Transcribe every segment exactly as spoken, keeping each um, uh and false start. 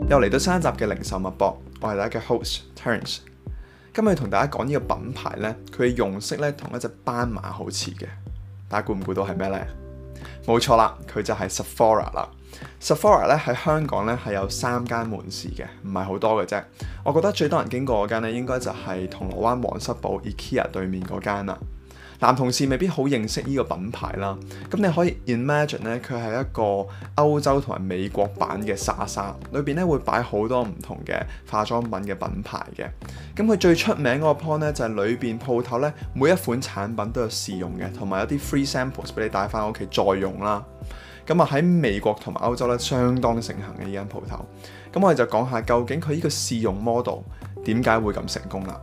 又嚟到新一集嘅零售脈搏，我係大家嘅 host Terence。今日同大家講呢個品牌呢，佢嘅用色呢同一隻斑馬好似嘅，大家估唔估到係咩呢？冇錯啦，佢就係 Sephora 啦。Sephora 咧喺香港咧係有三間門市嘅，唔係好多嘅啫。我覺得最多人經過嗰間咧，應該就係銅鑼灣皇室堡 IKEA 對面嗰間啦。男同事未必好認識呢個品牌啦，咁你可以 imagine 咧，佢係一個歐洲同埋美國版嘅莎莎，裏邊咧會擺好多唔同嘅化妝品嘅品牌嘅。咁佢最出名嗰個 point 咧就係裏邊鋪頭咧每一款產品都有試用嘅，同埋有啲 free samples 俾你帶翻屋企再用啦。咁啊喺美國同埋歐洲咧相當盛行嘅呢間鋪頭。咁我哋就講下究竟佢呢個試用 model 點解會咁成功啦。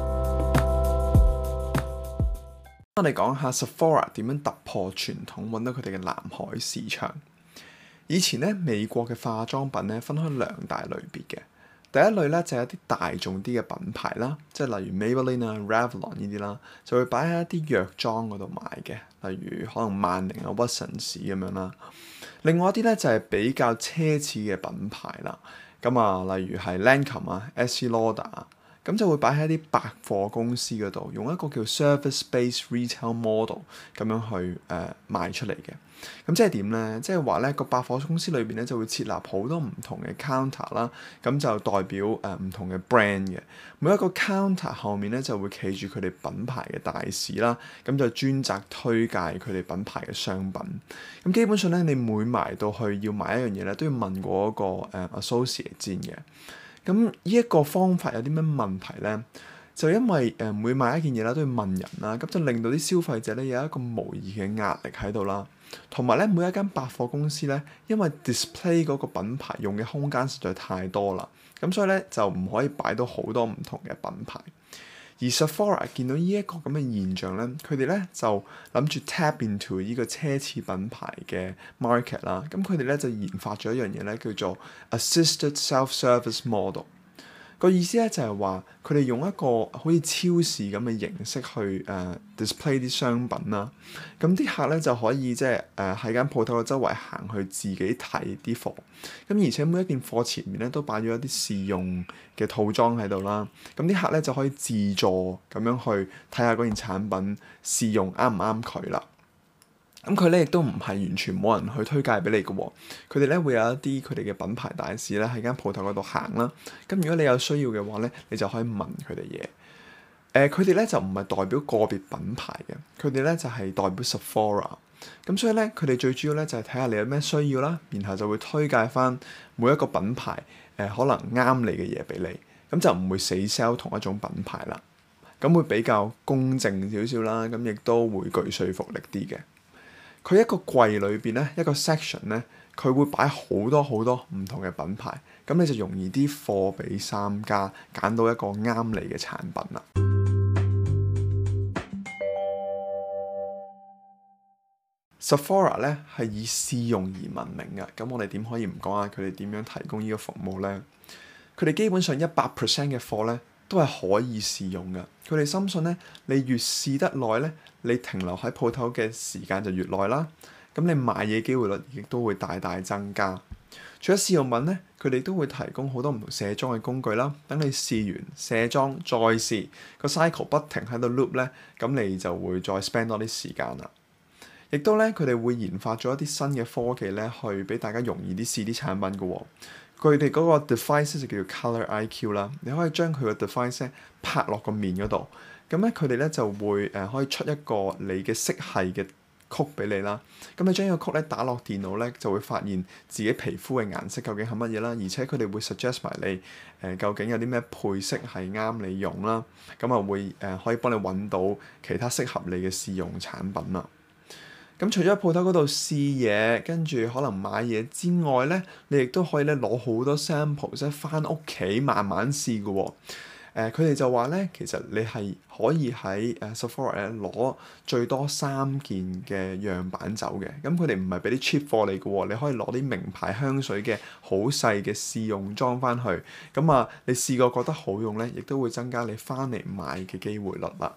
我哋講下 Sephora 點樣突破傳統，揾到佢哋嘅藍海市場。以前咧，美國嘅化妝品咧分開兩大類別嘅。第一類咧就係一啲大眾啲嘅品牌啦，即係例如 Maybelline 啊、Revlon 呢啲啦，就會擺喺一啲藥妝嗰度賣嘅，例如可能萬寧啊、屈臣氏咁樣啦。另外一啲咧就係比較奢侈嘅品牌啦，咁啊，例如係 Lancome 啊、Estée Lauder 啊。咁就會擺喺一啲百貨公司嗰度，用一個叫 service-based retail model 咁樣去誒、呃、賣出嚟嘅。咁即係點咧？即係話咧個百貨公司裏邊咧就會設立好多唔同嘅 counter 啦，咁就代表誒唔、呃、同嘅 brand 嘅。每一個 counter 後面咧就會企住佢哋品牌嘅大使啦，咁就專責推介佢哋品牌嘅商品。咁基本上咧，你每埋到去要買一樣嘢咧，都要問過一個誒、呃、associate 先嘅。咁呢一個方法有啲咩問題咧？就因為誒、呃、每買一件嘢啦都要問人啦，咁就令到啲消費者咧有一個模擬嘅壓力喺度啦。同埋咧，每一間百貨公司咧，因為 display 嗰個品牌用嘅空間實在太多啦，咁所以咧就唔可以擺到好多唔同嘅品牌。而 Sephora 見到呢一個咁嘅現象咧，佢哋咧就諗住 tap into 呢個奢侈品牌嘅 market 啦。咁佢哋咧就研發咗一樣嘢咧，叫做 assisted self-service model。個意思咧就係話，佢哋用一個好似超市咁嘅形式去誒、uh, display 啲商品啦。咁啲客咧就可以即係誒喺間鋪頭嘅周圍行去自己睇啲貨。咁而且每一件貨前面咧都擺咗一啲試用嘅套裝喺度啦。咁啲客咧就可以自助咁樣去睇下嗰件產品試用啱唔啱佢啦。咁佢咧亦都唔係完全冇人去推介俾你嘅喎，佢哋咧會有一啲佢哋嘅品牌大使咧喺間鋪頭嗰度行啦。咁如果你有需要嘅話咧，你就可以問佢哋嘢。誒、呃，佢哋咧就唔係代表個別品牌嘅，佢哋咧就係、是、代表 Sephora。咁所以咧，佢哋最主要咧就係睇下你有咩需要啦，然後就會推介翻每一個品牌誒、呃、可能啱你嘅嘢俾你，咁就唔會死 sell 同一種品牌啦。咁會比較公正少少啦，咁亦都會具說服力啲嘅。佢一個櫃裏邊咧，一個 section 咧，佢會擺好多好多唔同嘅品牌，咁你就容易啲貨比三家，揀到一個啱你嘅產品啦。Sephora 咧係以試用而聞名嘅，咁我哋點可以唔講下佢哋點樣提供呢個服務咧？佢哋基本上一百 percent 嘅貨咧都係可以試用嘅。佢哋深信咧，你越試得耐咧，你停留喺鋪頭嘅時間就越耐啦。咁你買嘢機會率亦都會大大增加。除咗試用品咧，佢哋都會提供好多唔同卸妝嘅工具啦。等你試完卸妝再試，個 cycle 不停喺度 loop 咧，咁你就會再 spend 多啲時間啦。亦都咧，佢哋會研發咗一啲新嘅科技咧，去俾大家容易啲試啲產品嘅喎、哦。佢哋嗰個 device 就叫做 Color I Q 啦，你可以將佢個 device 拍落個面嗰度，咁咧佢哋咧就會誒、呃、可以出一個你嘅色系嘅曲俾你啦。咁你將呢個曲咧打落電腦咧，就會發現自己皮膚嘅顏色究竟係乜嘢啦，而且佢哋會 suggest 埋你誒、呃、究竟有啲咩配色係啱你用啦。咁啊會誒、呃、可以幫你揾到其他適合你嘅試用產品啦。咁除咗喺鋪頭嗰度試嘢，跟住可能買嘢之外咧，你亦都可以咧攞好多 sample，即係翻屋企慢慢試嘅喎、哦。誒，佢哋就話咧，其實你係可以喺誒 Sephora 咧攞最多三件嘅樣板走嘅。咁佢哋唔係俾啲 cheap 貨你嘅喎，你可以攞啲名牌香水嘅好細嘅試用裝翻去。咁啊，你試過覺得好用咧，亦都會增加你翻嚟買嘅機會率啦。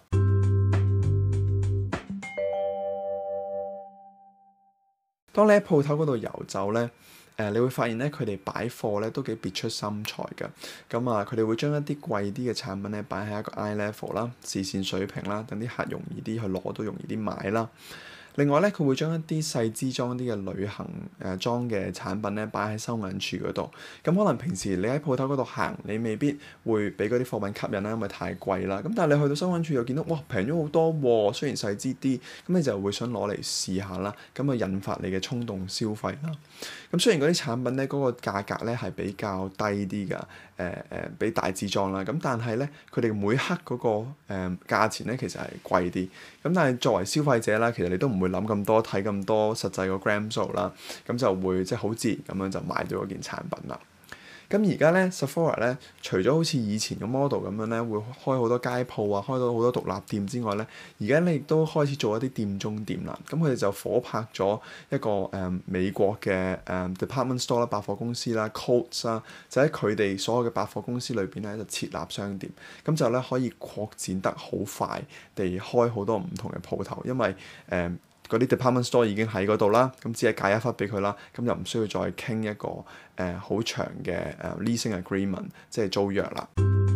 當你喺鋪頭嗰度遊走咧，誒、呃，你會發現咧，佢哋擺貨咧都幾別出心裁㗎。咁啊，佢哋會將一啲貴啲嘅產品咧擺喺一個 eye level 啦、視線水平啦，等啲客容易啲去攞到，容易啲買啦。另外咧，佢會將一啲細支裝啲嘅旅行誒裝嘅產品咧擺喺收銀處嗰度。咁可能平時你喺鋪頭嗰度行，你未必會俾嗰啲貨品吸引啦，因為太貴啦。咁但係你去到收銀處又見到，哇，平咗好多喎，雖然細支啲，咁你就會想攞嚟試下啦。咁啊引發你嘅衝動消費啦。咁雖然嗰啲產品咧嗰個價格咧係比較低啲㗎，誒、呃、誒、呃、比大支裝啦。咁但係咧，佢哋每克嗰、嗰個誒、呃、價錢咧其實係貴啲。咁但係作為消費者啦，其實你都唔會諗咁多，睇咁多實際個 gram 數啦，咁就會即係好自然咁樣就買到嗰件產品啦。咁而家咧 Sephora 咧，除咗好似以前個 model 咁樣咧，會開好多街鋪啊，開到好多獨立店之外咧，而家咧亦都開始做一啲店中店啦。咁佢哋就夥拍咗一個誒、嗯、美國嘅誒、嗯、department store 啦，百貨公司啦 Coats 啦，就喺佢哋所有嘅百貨公司裏邊咧就設立商店，咁就咧可以擴展得好快地開好多唔同嘅鋪頭，因為誒，嗯嗰啲 department store 已經喺嗰度啦，咁只係界一忽俾佢啦，咁就唔需要再傾一個誒好、呃、長嘅誒、uh, leasing agreement，即係租約啦。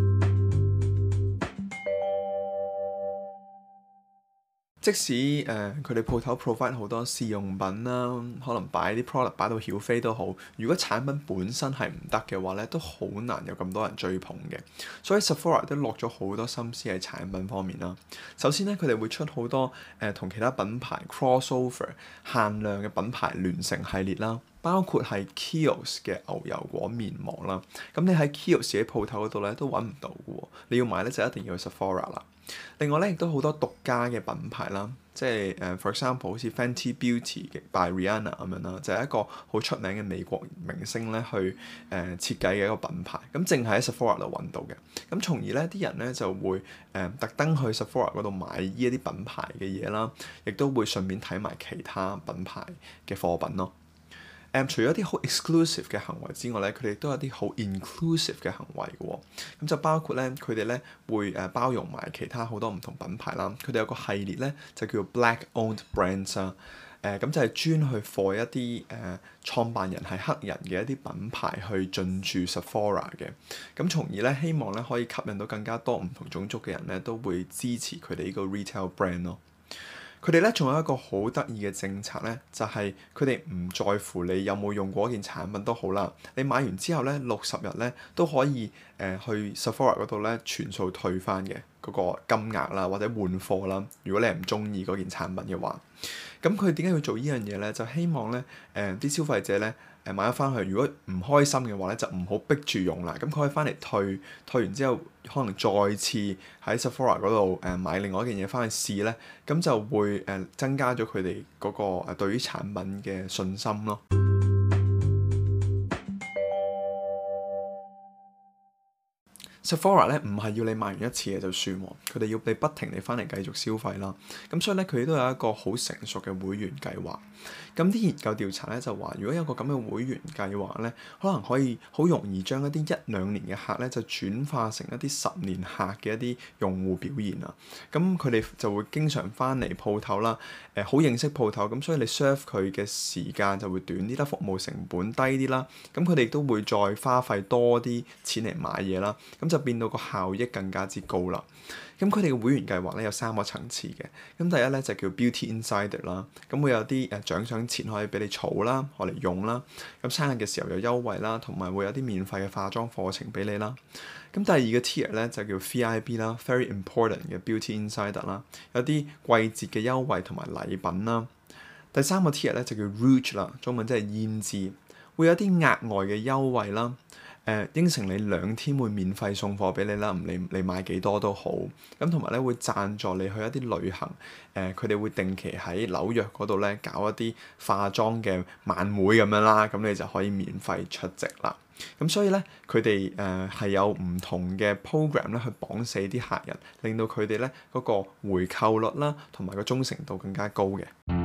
即使誒佢哋鋪頭 provide 好多試用品啦，可能擺啲 product 擺到曉飛都好，如果產品本身係唔得嘅話咧，都好難有咁多人追捧嘅。所以 Sephora 都落咗好多心思喺產品方面啦。首先咧，佢哋會出好多誒同、呃、其他品牌 crossover 限量嘅品牌聯乘系列啦，包括係 Kiehl's 嘅牛油果面膜啦。咁你喺 Kiehl's 自己鋪頭嗰度咧都揾唔到嘅喎，你要買咧就一定要去 Sephora 啦。另外咧，亦都好多獨家嘅品牌啦，即係誒、uh, for example 好似 Fenty Beauty 嘅 by Rihanna 咁樣啦，就係、是、一個好出名嘅美國明星咧去誒、uh, 設計嘅一個品牌，咁淨係喺 Sephora 度揾到嘅，咁從而咧啲人咧就會誒、uh, 特登去 Sephora 嗰度買呢一啲品牌嘅嘢啦，亦都會順便睇埋其他品牌嘅貨品咯。誒、um, 除咗啲好 exclusive 嘅行為之外咧，佢哋都有啲好 inclusive 嘅行為嘅喎、哦，咁就包括咧佢哋咧會誒包容埋其他好多唔同品牌啦。佢哋有個系列咧就叫 Black Owned Brands 啊，誒咁就係專去 for 一啲誒、呃、創辦人係黑人嘅一啲品牌去進駐 Sephora 嘅，咁從而咧希望咧可以吸引到更加多唔同種族嘅人咧都會支持佢哋呢個 retail brand 咯。佢哋咧仲有一個好得意嘅政策咧，就係佢哋唔在乎你有冇用過一件產品都好啦，你買完之後咧六十日咧都可以誒、呃、去 Sephora 嗰度咧全數退翻嘅嗰個金額啦，或者換貨啦。如果你係唔中意嗰件產品嘅話，咁佢點解要做呢樣嘢咧？就希望咧誒啲消費者咧。誒買咗翻去，如果唔開心嘅話咧，就唔好逼住用啦。咁佢可以翻嚟退，退完之後可能再次喺 Sephora 嗰度誒買另外一件嘢翻去試咧，咁就會誒增加咗佢哋嗰個誒對於產品嘅信心咯。Sephora 咧唔係要你買完一次嘅就算喎，佢哋要你不停地翻嚟繼續消費啦。咁所以咧佢哋都有一個好成熟嘅會員計劃。咁啲研究調查咧就話，如果有個咁嘅會員計劃咧，可能可以好容易將一啲一兩年嘅客咧就轉化成一啲十年客嘅一啲用戶表現啊。咁佢哋就會經常翻嚟鋪頭啦，誒、呃、好認識鋪頭，咁所以你 serve 佢嘅時間就會短啲啦，服務成本低啲啦。咁佢哋都會再花費多啲錢嚟買嘢啦，咁就變到個效益更加之高啦。咁佢哋嘅會員計劃咧有三個層次嘅。咁第一咧就叫 Beauty Insider 啦，咁會有啲誒獎賞錢可以俾你儲啦，攞嚟用啦。咁生日嘅時候有優惠啦，同埋會有啲免費嘅化妝課程俾你啦。咁第二個 tier 咧就叫 V I B 啦 ，Very Important 嘅 Beauty Insider 啦，有啲季節嘅優惠同埋禮品啦。第三個 tier 咧就叫 Rouge 啦，中文即係胭脂，會有啲額外嘅優惠啦。誒、呃、應承你兩天會免費送貨俾你啦，唔理你買幾多都好。咁同埋咧會贊助你去一啲旅行。誒佢哋會定期喺紐約嗰度咧搞一啲化妝嘅晚會咁樣啦，咁你就可以免費出席啦。咁所以咧佢哋誒係有唔同嘅 program 咧去綁死啲客人，令到佢哋咧嗰個回購率啦同埋個忠誠度更加高嘅。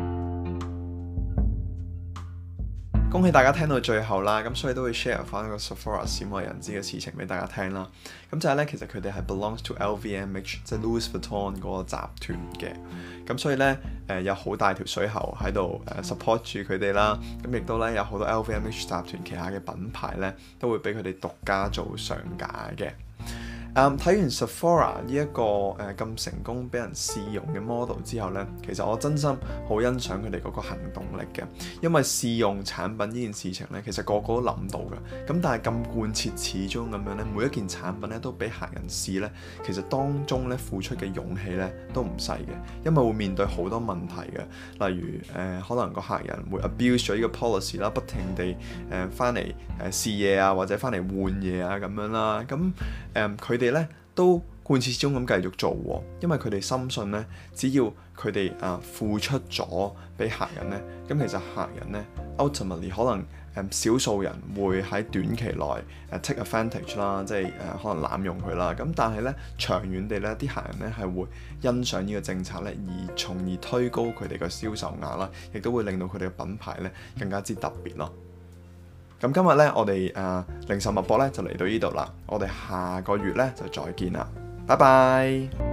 恭喜大家聽到最後啦，咁所以都會 share 翻一個 Sephora 鮮為人知嘅事情俾大家聽啦。咁就係咧，其實佢哋係 belongs to L V M H，即係 Louis Vuitton 嗰個集團嘅。咁所以咧， 誒有好大條水喉喺度誒 support 住佢哋啦。咁亦都咧有好多 L V M H 集團旗下嘅品牌咧，都會俾佢哋獨家做上架嘅。睇、um, 完 Sephora 呢、這、一個誒咁、呃、成功俾人試用嘅 model 之後呢，其實我真心好欣賞佢哋嗰個行動力嘅，因為試用產品呢件事情呢，其實個個都諗到嘅，咁但係咁貫徹始終咁樣呢，每一件產品呢都俾客人試呢，其實當中呢付出嘅勇氣呢都唔細嘅，因為會面對好多問題嘅，例如誒、呃、可能個客人會 abuse 咗呢個 policy 啦，不停地誒翻嚟誒試嘢啊，或者翻嚟換嘢啊咁樣啦，咁誒佢哋咧都貫徹始終咁繼續做喎，因為佢哋深信咧，只要佢哋啊付出咗俾客人咧，咁其實客人咧 ultimately 可能誒少數人會喺短期內誒 take advantage 啦，即係誒可能濫用佢啦。咁但係咧長遠地咧，啲客人咧係會欣賞呢個政策咧，而從而推高佢哋嘅銷售額啦，亦都會令到佢哋嘅品牌咧更加之特別咯。咁今日咧，我哋誒、呃、零售脈搏咧就嚟到呢度啦，我哋下個月咧就再見啦，拜拜。